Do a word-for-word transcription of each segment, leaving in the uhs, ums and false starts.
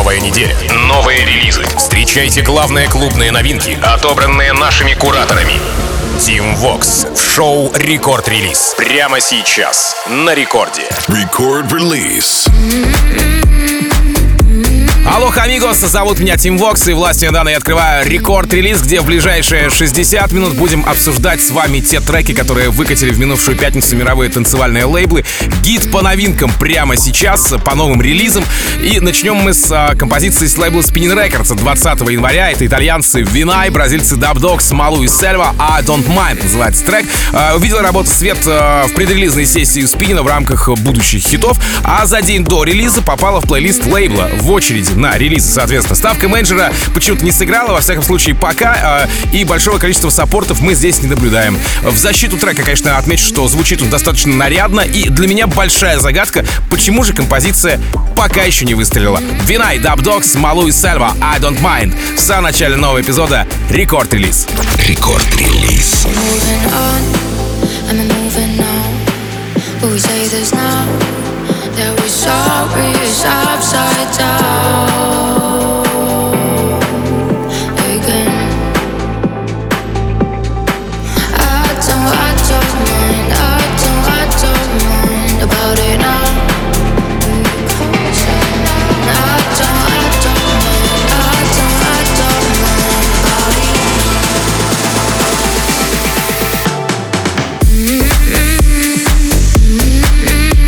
Новая неделя, новые релизы. Встречайте главные клубные новинки, отобранные нашими кураторами. Team Vox в шоу «Рекорд Релиз». Прямо сейчас на рекорде. Record Release. Алло, амигос, зовут меня Team Vox, и властью недавно я открываю рекорд-релиз, где в ближайшие шестьдесят минут будем обсуждать с вами те треки, которые выкатили в минувшую пятницу мировые танцевальные лейблы. Гид по новинкам прямо сейчас, по новым релизам. И начнем мы с а, композиции с лейбла Spinnin' Records двадцатого января. Это итальянцы Vinai, бразильцы Dub Dogs, Малу и Сельва. I Don't Mind называется трек. А, увидел работу свет а, в предрелизной сессии у Spinnin в рамках будущих хитов, а за день до релиза попала в плейлист лейбла в очереди на релизы, соответственно. Ставка менеджера почему-то не сыграла, во всяком случае, пока, э, и большого количества саппортов мы здесь не наблюдаем. В защиту трека, конечно, отмечу, что звучит он достаточно нарядно, и для меня большая загадка, почему же композиция пока еще не выстрелила. Vinai, Dub Dogs, Малу и Сельва, I Don't Mind. В самом начале нового эпизода Рекорд-релиз. Рекорд-релиз. That we're sorry is upside down again. I don't, I don't mind, I don't, I don't mind about it now. I don't, I don't mind, I don't, I don't mind about it. Mm-hmm. Mm-hmm.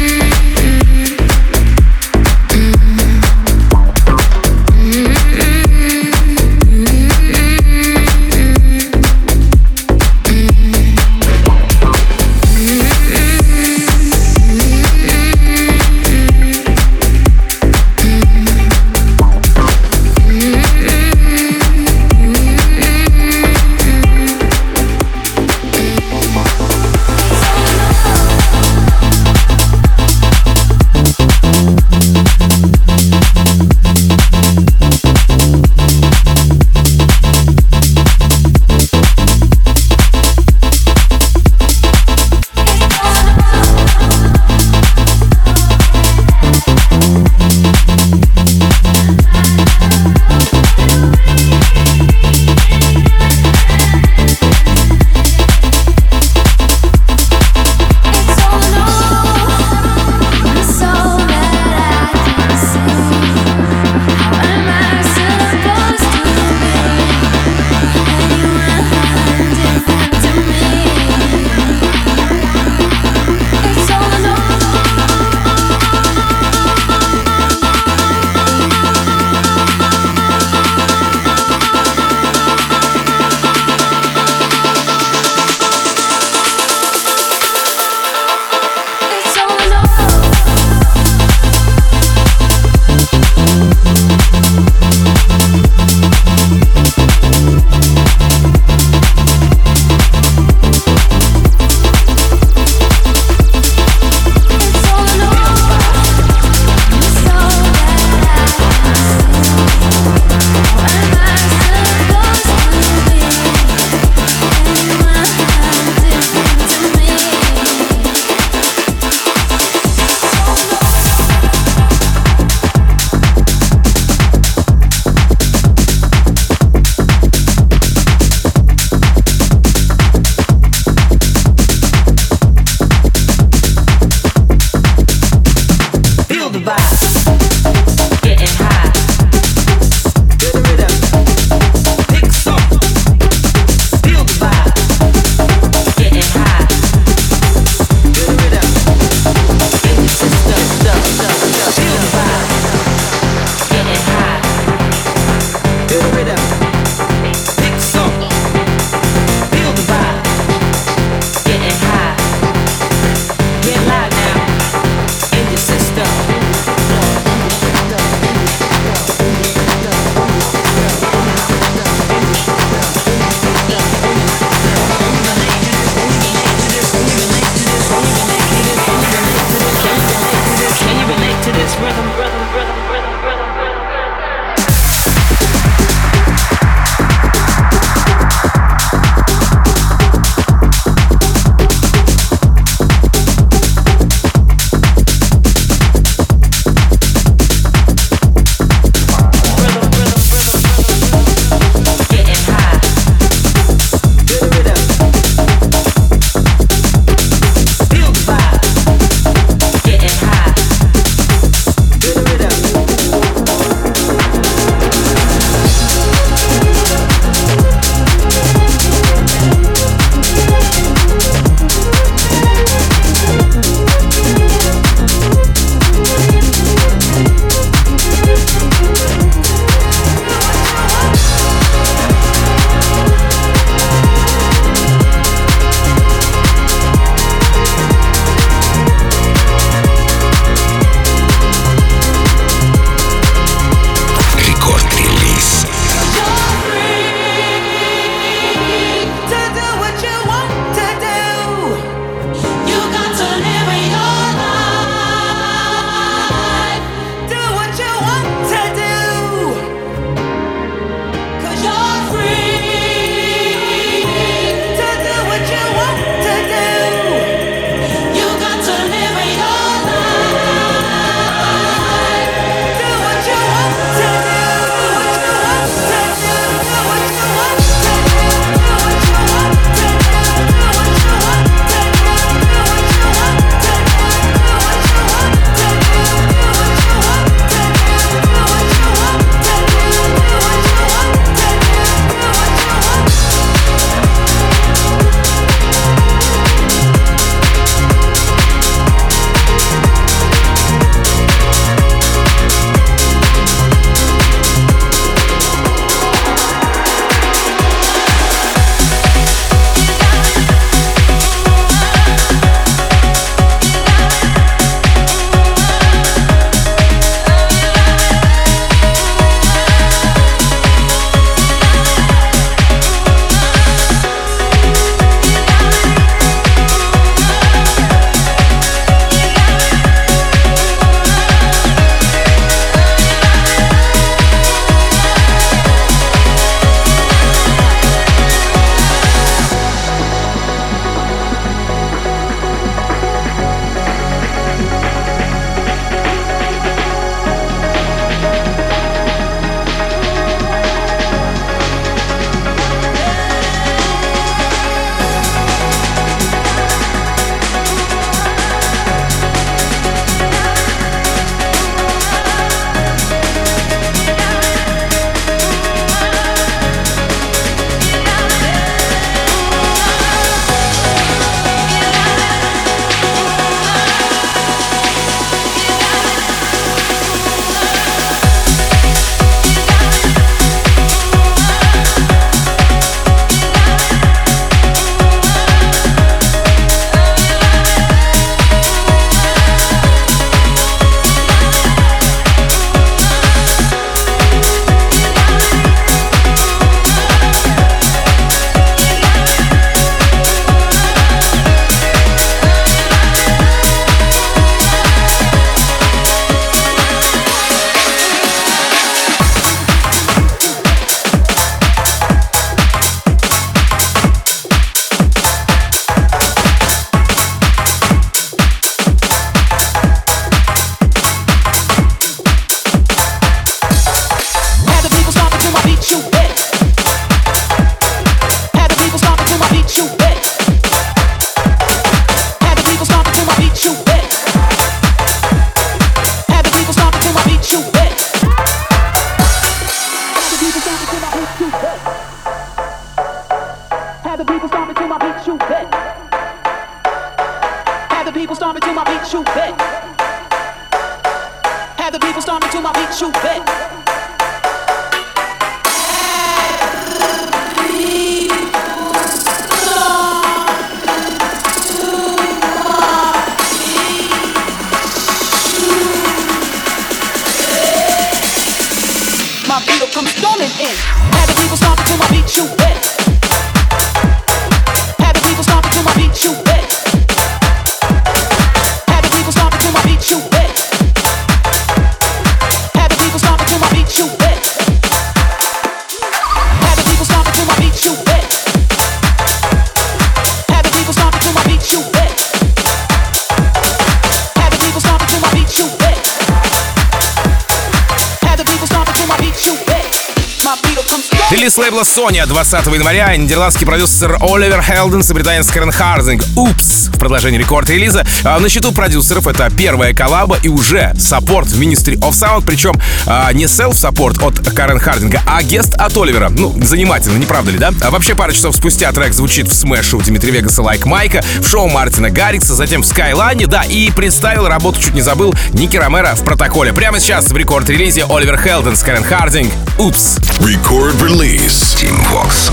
beat, you bet. Have the people stomping to my beat, you bet. My beat will come storming in. Have the people stomping to my beat, you bet. Have the people stomping to my beat, you bet. Have the people stomping to my beat, you bet. Have the people stomping to my beat, you bet. Have the people stomping to my beat, you bet. Have the people stomping to my beat, you bet. Have the people stomping to my beat, you bet. Have the people stomping to my beat, you bet. My beat will come strong. Релиз лейбла Sony двадцатого января. Нидерландский продюсер Оливер Хелденс и британец Карен Хардинг. Упс! В продолжении рекорд-релиза. А на счету продюсеров это первая коллаба и уже саппорт в Ministry of Sound. Причем а, не селф-саппорт от Карен Хардинга, а гест от Оливера. Ну, занимательно, не правда ли, да? А вообще, пару часов спустя трек звучит в смэше у Димитри Вегаса «Like Майка», в шоу Мартина Гаррикса, затем в Скайлайне, да, и представил работу, чуть не забыл, Ники Ромеро в протоколе. Прямо сейчас в рекорд-релизе Оливер Хелденс, Карен Хардинг. Упс! Record release. Team Vox.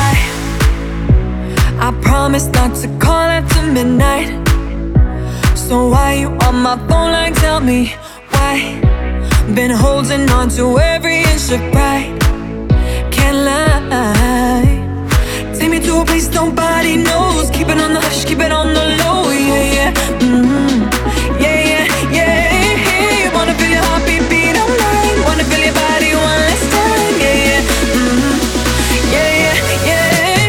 I promise not to call after midnight. So why you on my phone like tell me why? Been holding on to every inch of pride. Can't lie. Take me to a place nobody knows. Keep it on the hush, keep it on the low. Yeah, yeah, mm-hmm. Yeah, yeah, yeah. Wanna feel your heartbeat beat on mine. Wanna feel your body one last time. Yeah, yeah, mm-hmm. Yeah, yeah, yeah.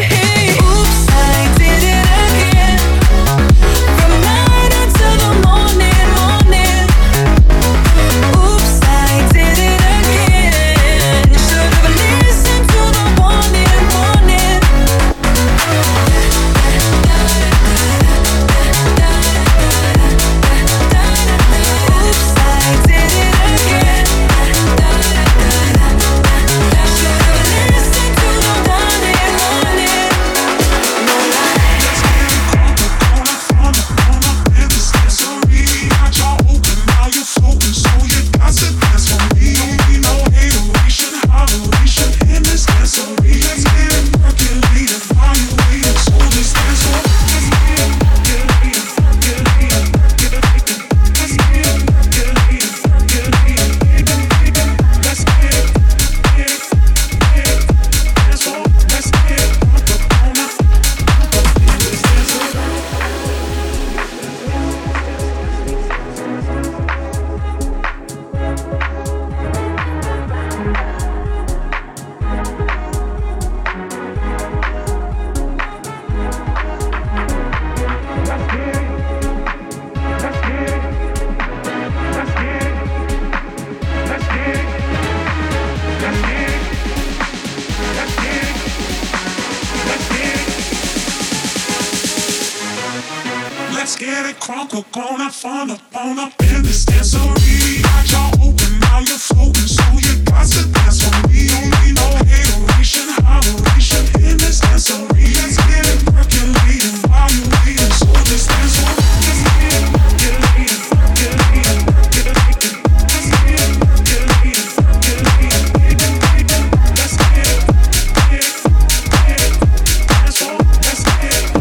Let's get it crunk, we're gonna fun up on up in this dancery. Got y'all open, now you're floating, so you got to dance for me. Don't need no hateration, holleration in this dancery. Let's get it percolating while you're waiting, so this dance for me. Let's get it percolating, percolating, percolating. Let's get it percolating, percolating, percolating. Let's get it, get it, get it, dance for me. Let's get it.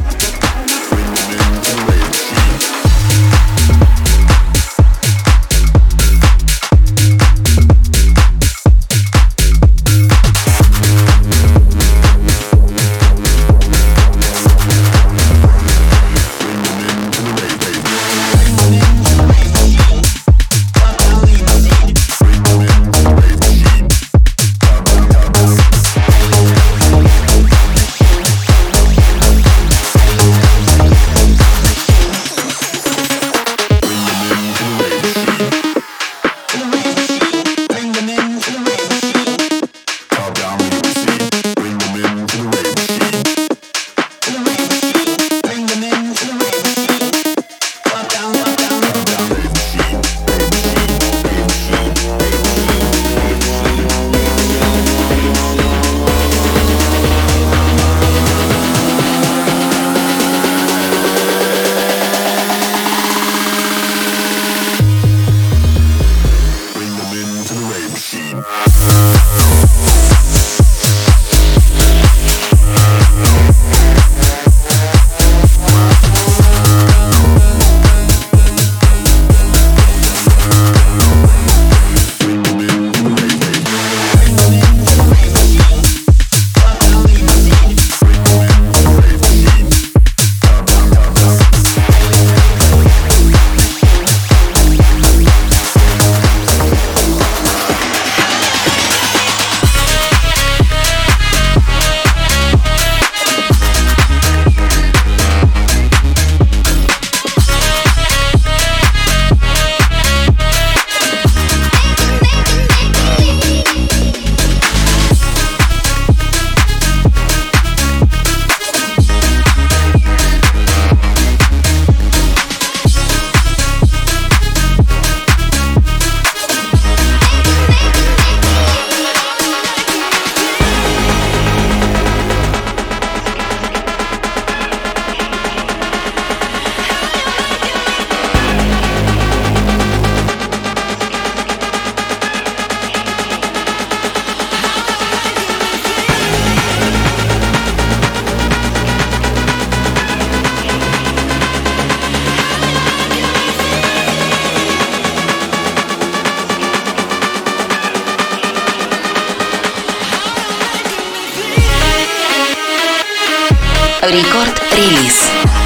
We'll be right back. Рекорд-релиз.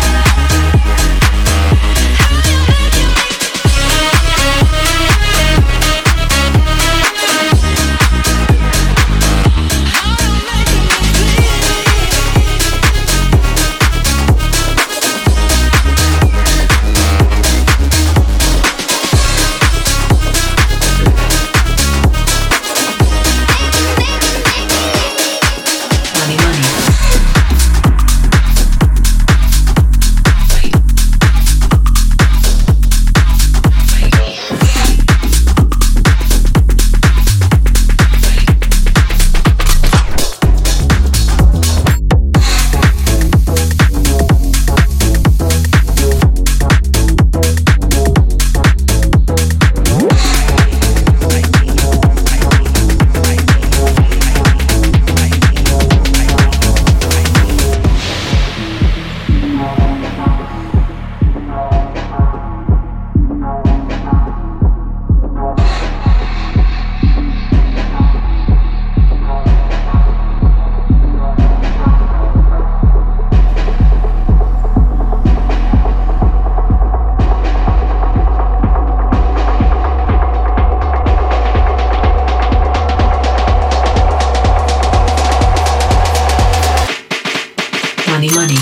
Money, money.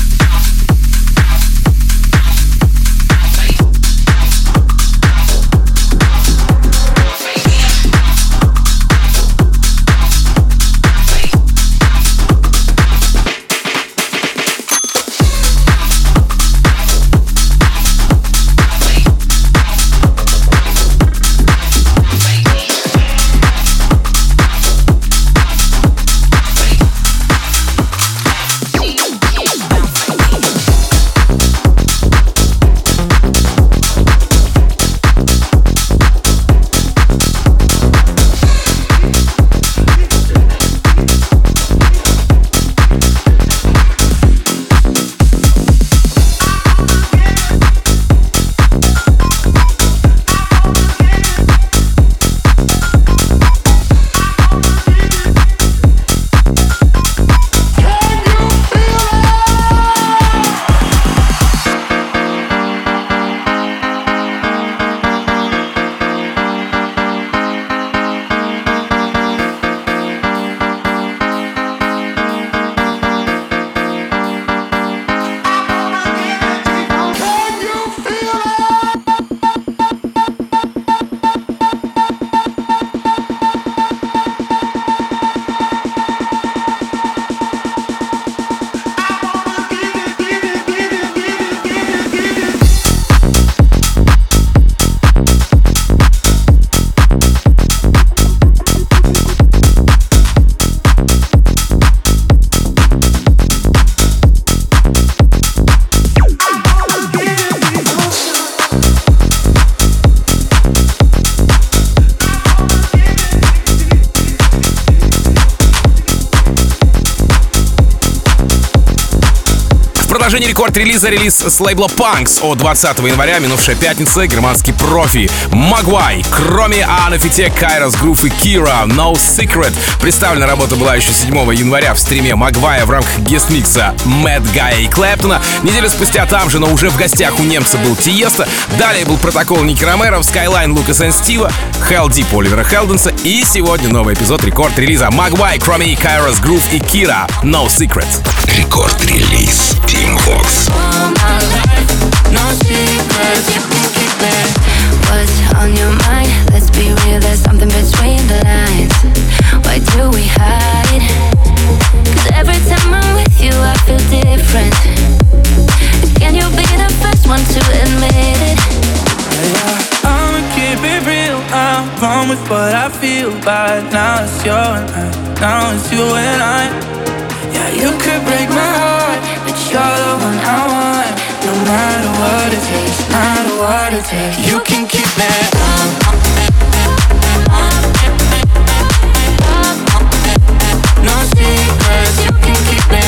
В продолжении рекорд-релиза релиз с лейбла Punks от двадцатого января, минувшая пятница, германский профи Mogwai, кроме Анафите, Kairos Groove и Kira, No Secret. Представлена работа была еще седьмого января в стриме Mogwai в рамках гест-микса Mad Guy и Клэптона. Неделю спустя там же, но уже в гостях у немца был Тиеста. Далее был протокол Ники Ромеро, Skyline Лукас и Стива, Hell Deep Оливера Хелденса. И сегодня новый эпизод рекорд-релиза Mogwai, кроме Kairos Groove и Kira, No Secret. Рекорд-релиз Team Vox. What's on your mind? Let's be real, there's something between the lines. Why do we hide? Cause every time I'm with you I feel different. Can you be the first one to admit it? Yeah, I'ma keep it real, I'm wrong with what I feel. But now it's you and I, now it's you and I. Yeah, you could break my heart, but you're the one I want. No matter what it takes, no matter what it takes, you can keep me. No secrets, you can keep me.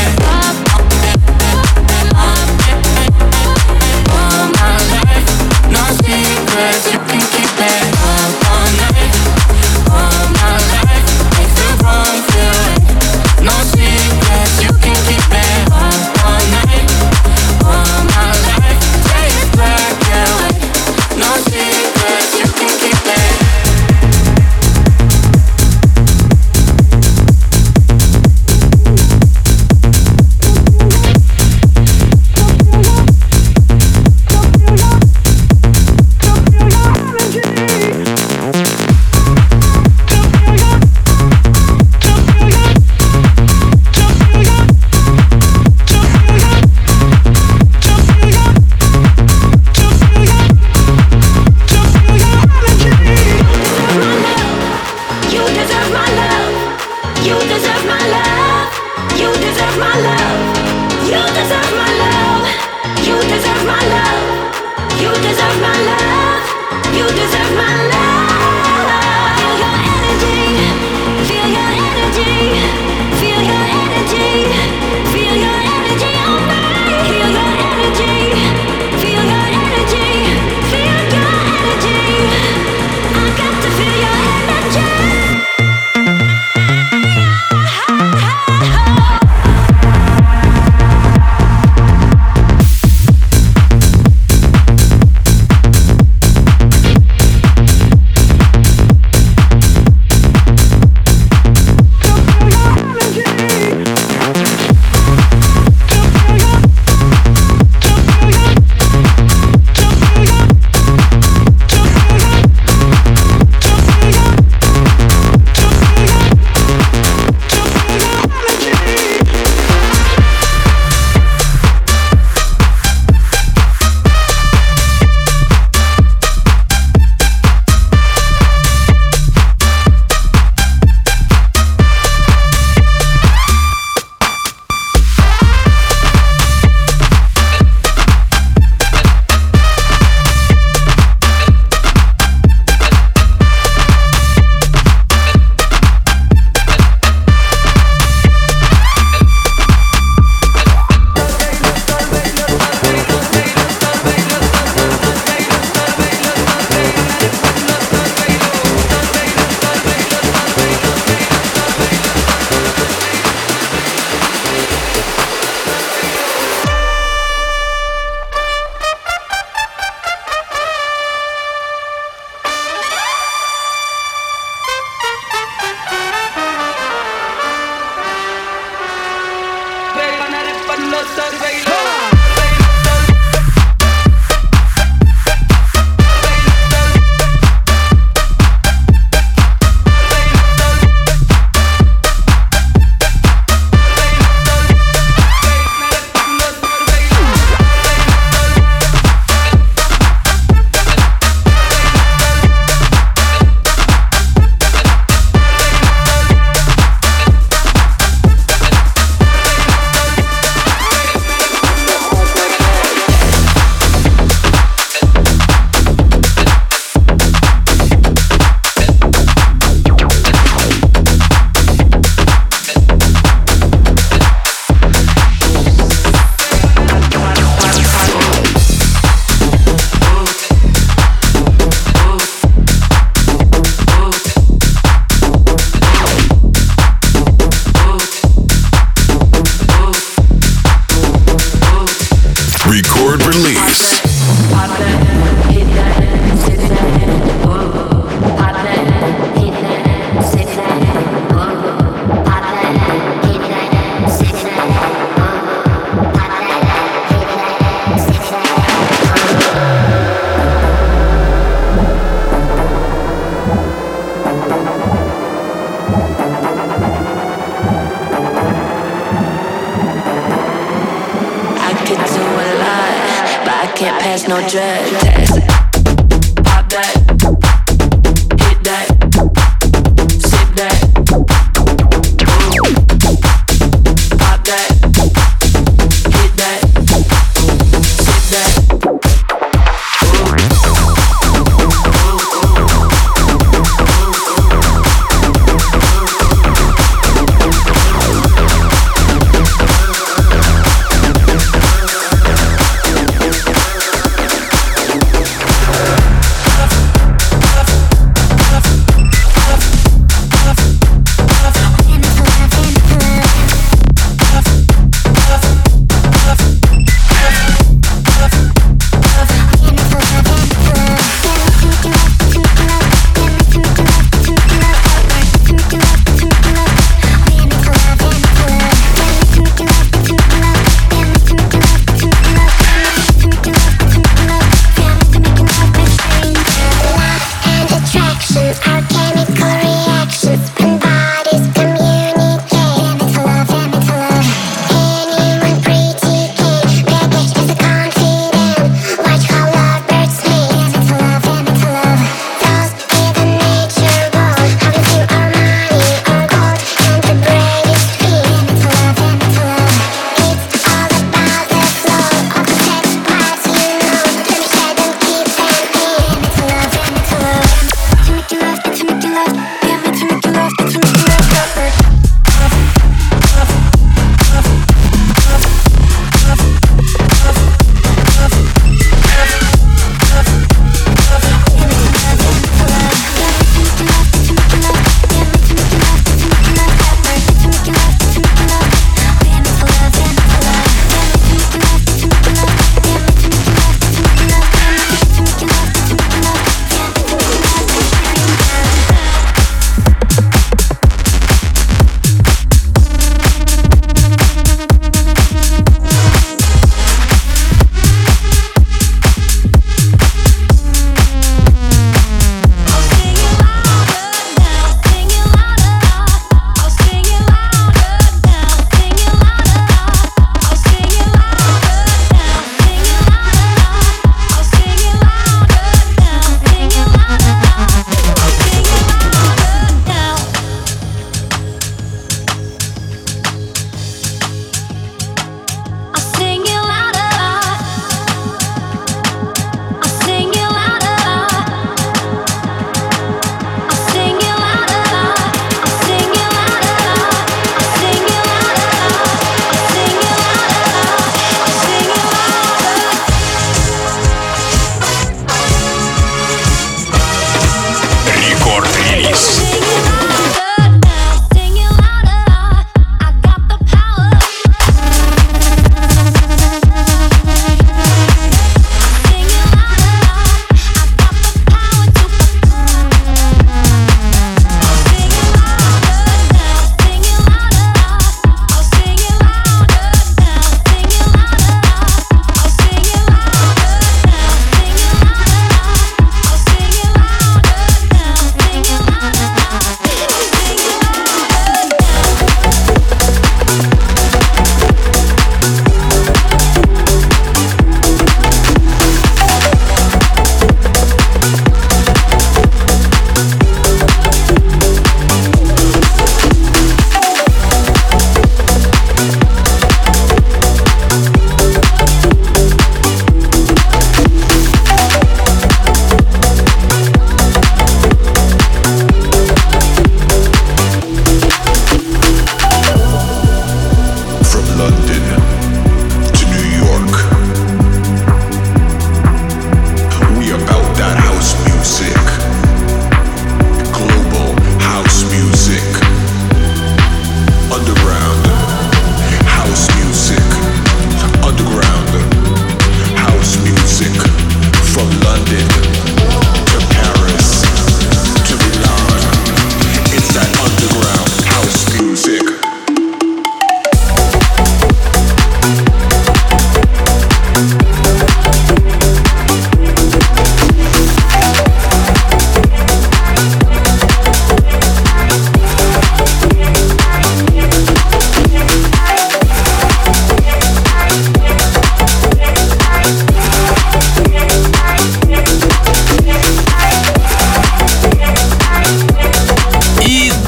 All my life, no secrets, you can keep me. All night, all my life, make the wrong feel right. No secrets, you can keep me. no drug test. Pop that, hit that, sip that. Pop that, hit that, sip that.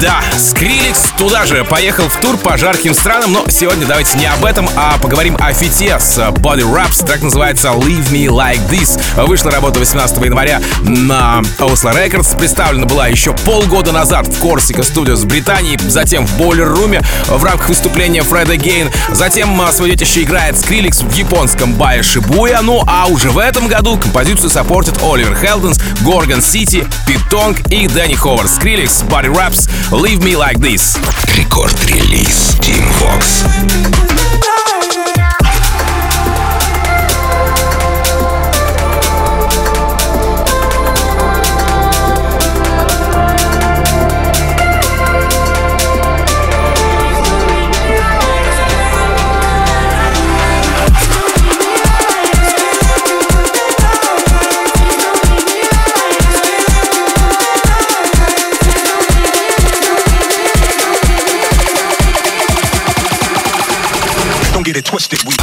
Да, Skrillex туда же поехал в тур по жарким странам, но сегодня давайте не об этом, а поговорим о фите с Body Raps. Трек называется Leave Me Like This. Вышла работа восемнадцатого января на Oslo Records. Представлена была еще полгода назад в Corsica Studios в Британии, затем в Boiler Room в рамках выступления Fred Again. Затем свое детище играет Skrillex в японском баре Shibuya. Ну а уже в этом году композицию саппортят Оливер Хелденс, Gorgon City, Pete Tong и Дэнни Ховард. Skrillex, Body Raps, Leave Me Like This. Рекорд-релиз Team Vox. Get it twisted. We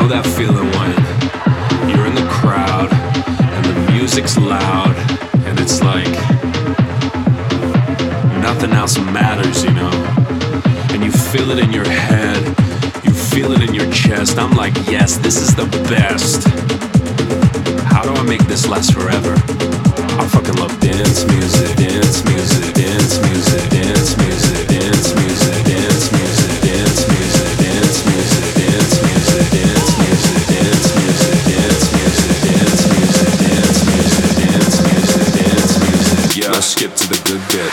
know that feeling when you're in the crowd and the music's loud and it's like nothing else matters, you know? And you feel it in your head, you feel it in your chest. I'm like, yes, this is the best. How do I make this last forever? I fucking love dance music, dance music, dance music, dance music, dance music, dance music, dance music, dance music, dance music, dance music, dance music, dance music, dance music, dance music, dance music, dance music. Yeah, let's skip to the good bit.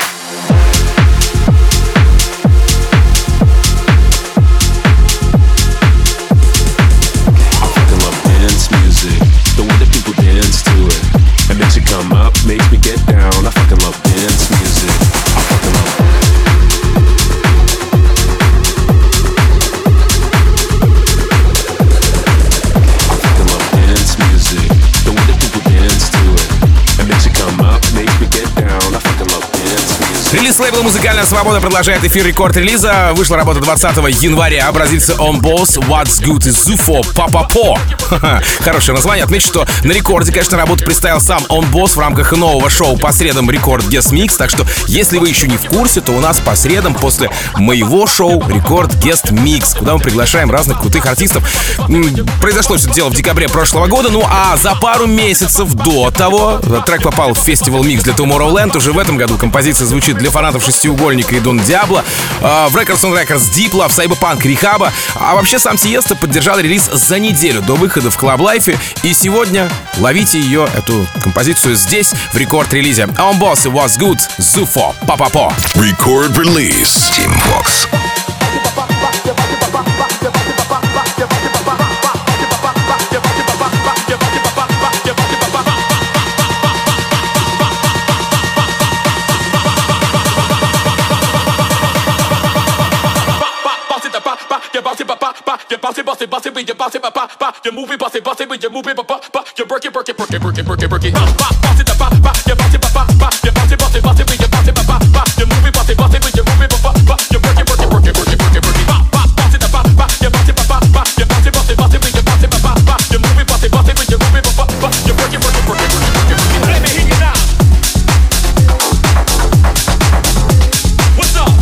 Come up, makes me get down. I fucking love dance music. I fucking love I fucking love dance music. The way that people dance to it. It makes you come up, makes me get down. I fucking love dance music. Релиз лейбла «Музыкальная свобода» продолжает эфир рекорд-релиза. Вышла работа двадцатого января. Бразильцы On Boss, What's Good и Zufo, Papapo. Хорошее название. Отмечу, что на рекорде, конечно, работу представил сам On Boss в рамках нового шоу по средам Рекорд Guest Mix. Так что, если вы еще не в курсе, то у нас по средам после моего шоу Рекорд Guest Mix, куда мы приглашаем разных крутых артистов. Произошло все это дело в декабре прошлого года. Ну а за пару месяцев до того трек попал в фестивал Mix для Tomorrowland. Уже в этом году композиция звучит для фанатов Шестиугольника и Дон Диабло, в Records on Records Diplo, в Cyberpunk Rehab. А вообще сам Тиесто поддержал релиз за неделю до выхода в Club Life. И сегодня ловите ее, эту композицию, здесь, в рекорд-релизе. On Boss и What's Good, Zufo, Papapo. Record Release, Team Vox. Bounce it, bounce it, bounce it, when you bounce it, ba ba. You move it, bounce it, bounce it, when you move it, ba ba. You work it, work it, work it, work it, work it, work it. Bounce it, ba ba. You bounce it, ba ba. You bounce it, bounce it, bounce it, when you bounce it, ba ba. You move it, bounce it, bounce it, when you move it, ba ba. You work it, work it, work it, work it, work it, work it. Bounce it, ba ba. You bounce it, ba ba. You bounce it, bounce it, bounce it, when you bounce it, ba ba. You move it, bounce it, bounce it, when you move it, ba ba. You work it, work it, work it, work it, work it, work it. Let me hear you now. What's up?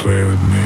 play with me.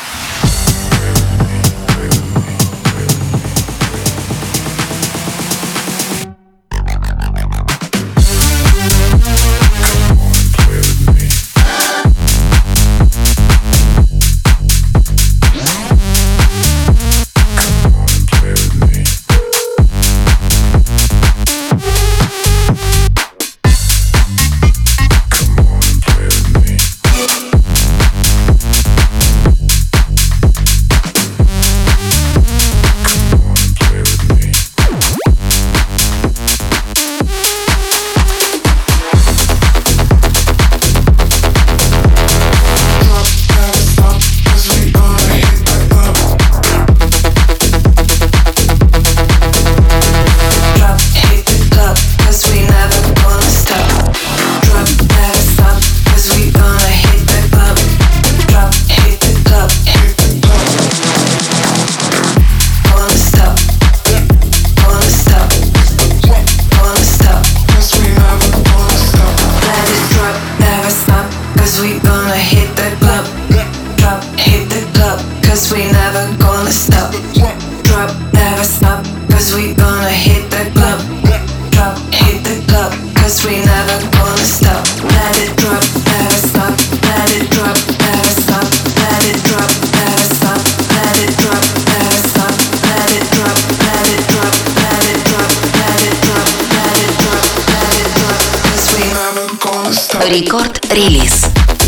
Рекорд-релиз.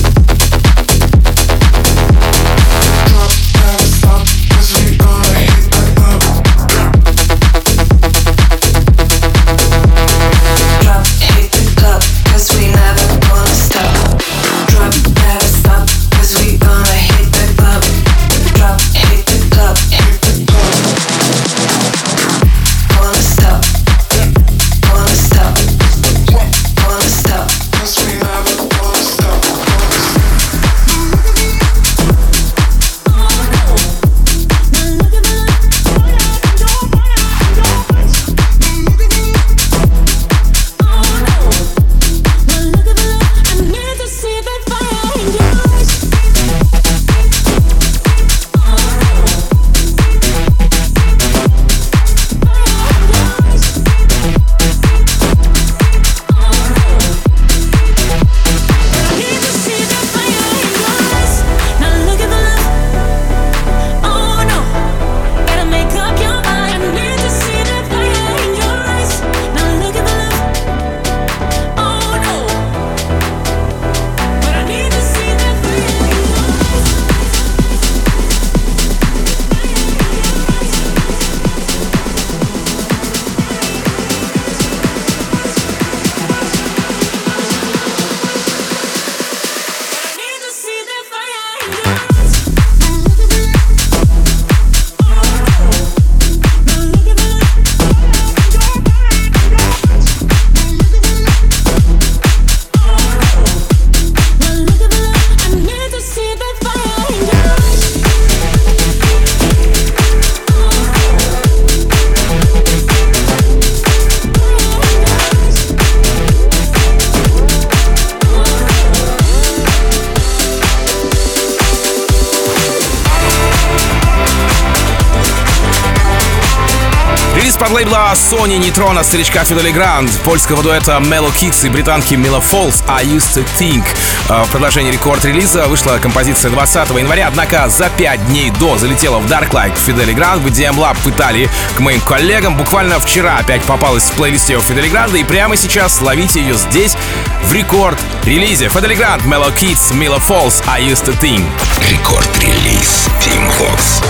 Под лейбла Sony Nitron старичка Фидели Гранд, польского дуэта Mellow Kids и британки Mila Falls I Used to Think. В продолжении рекорд-релиза вышла композиция двадцатого января, однако за пять дней до залетела в Dark Light Фидели Гранд в ди эм Lab в Италии к моим коллегам. Буквально вчера опять попалась в плейлисте у Фидели Гранда, и прямо сейчас ловите ее здесь в рекорд-релизе. Фидели Гранд, Mellow Kids, Mila Falls I Used to Think. Рекорд-релиз Team Vox.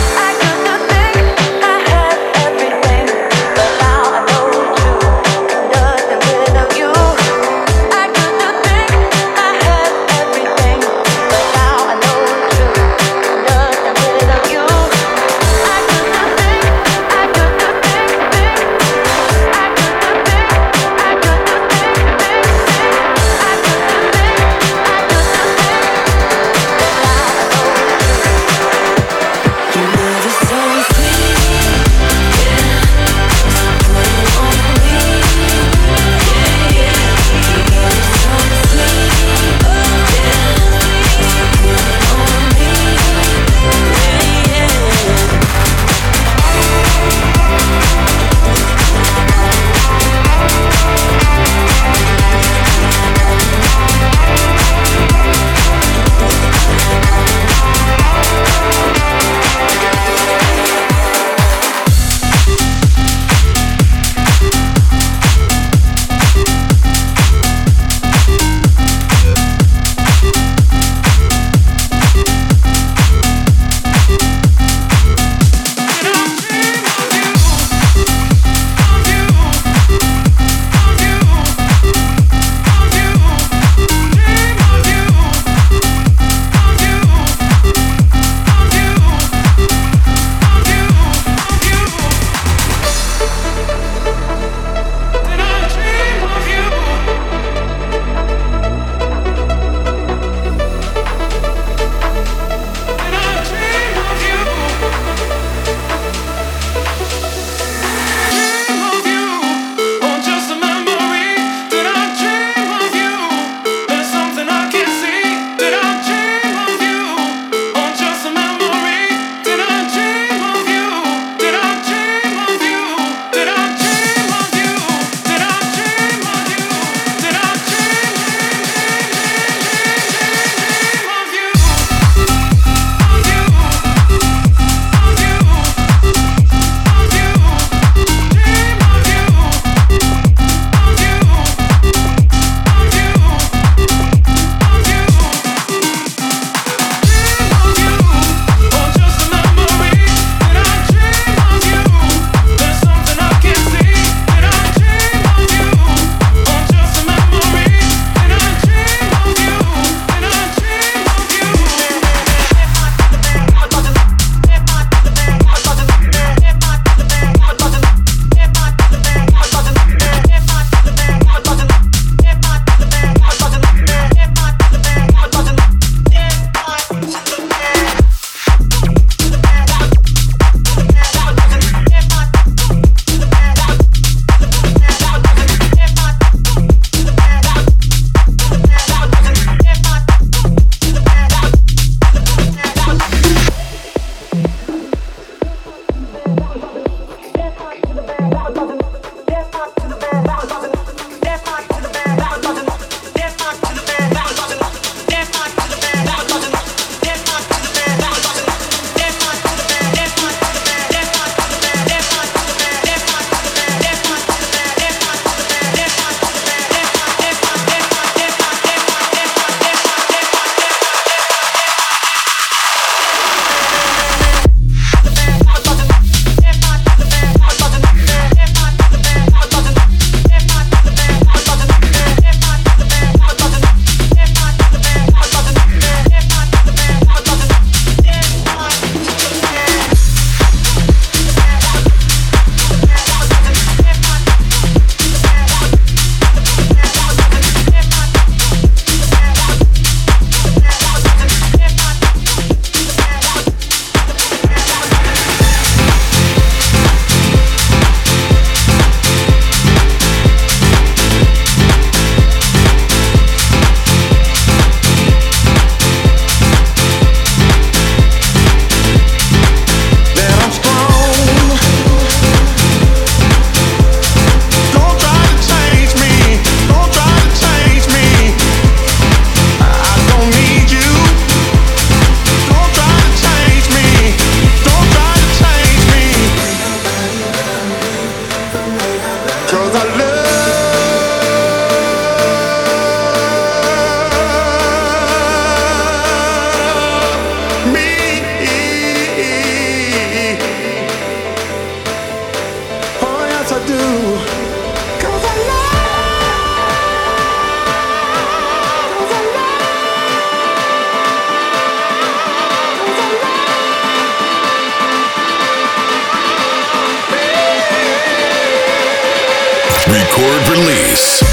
Record Release.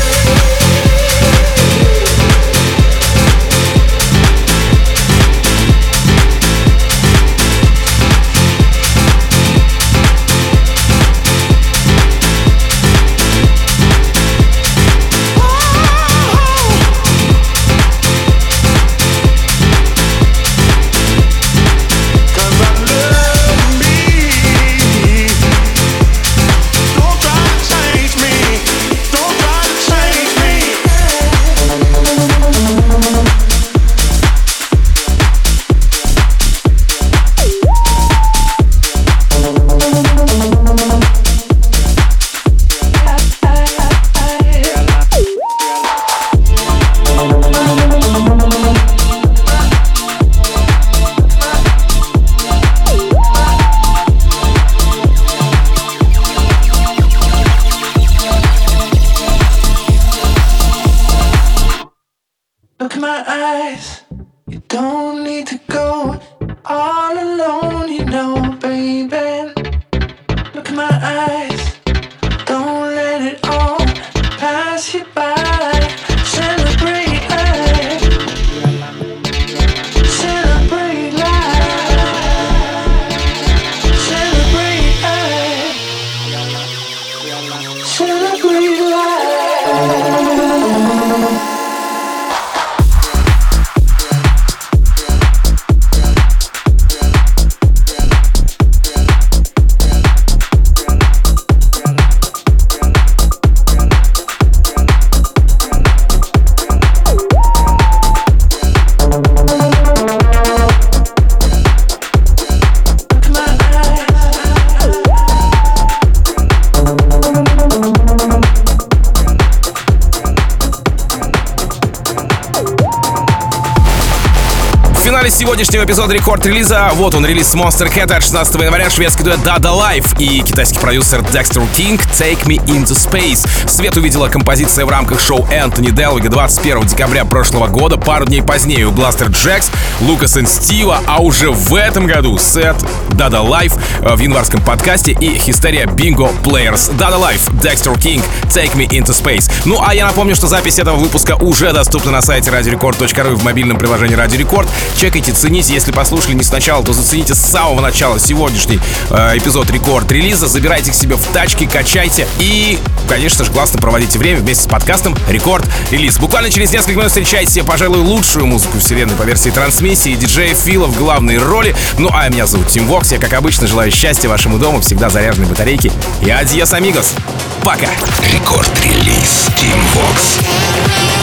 Сегодняшнего эпизода рекорд-релиза. Вот он, релиз Monster Cat от шестнадцатого января, шведский дуэт Dada Life и китайский продюсер Dexter King Take Me Into Space. Свет увидела композиция в рамках шоу Энтони Делвига двадцать первого декабря прошлого года. Пару дней позднее у Blaster Jacks, Lucas and Steve, а уже в этом году сет Dada Life в январском подкасте и Hysteria Bingo Players. Dada Life, Dexter King Take Me Into Space. Ну а я напомню, что запись этого выпуска уже доступна на сайте радио рекорд точка ру и в мобильном приложении Радио Рекорд. Чекайте, цените, если послушали не сначала, то зацените с самого начала сегодняшний э, эпизод рекорд-релиза, забирайте к себе в тачки, качайте и, конечно же, классно проводите время вместе с подкастом Рекорд-релиз. Буквально через несколько минут встречайте, пожалуй, лудшую музыку вселенной по версии трансмиссии, диджея Фила в главной роли. Ну а меня зовут Тим Вокс, я, как обычно, желаю счастья вашему дому, всегда заряженной батарейки и адьос, амигос. Пока! Рекорд-релиз Тим Вокс.